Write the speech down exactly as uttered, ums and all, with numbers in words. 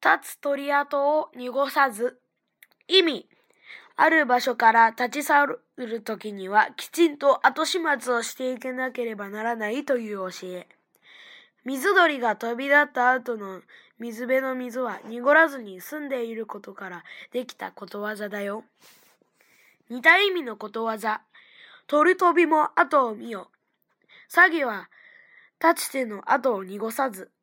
立つ鳥跡を濁さず。意味、ある場所から立ち去るときにはきちんと後始末をしていかなければならないという教え。水鳥が飛び立った後の水辺の水は濁らずに澄んでいることからできたことわざだよ。似た意味のことわざ。鳥飛びも後を見よ。詐欺は立ちての後を濁さず。